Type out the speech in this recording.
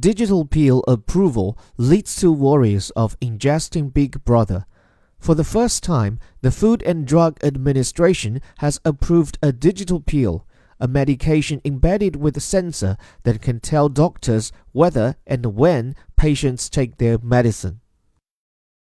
Digital pill approval leads to worries of ingesting Big Brother. For the first time, the Food and Drug Administration has approved a digital pill, a medication embedded with a sensor that can tell doctors whether and when patients take their medicine.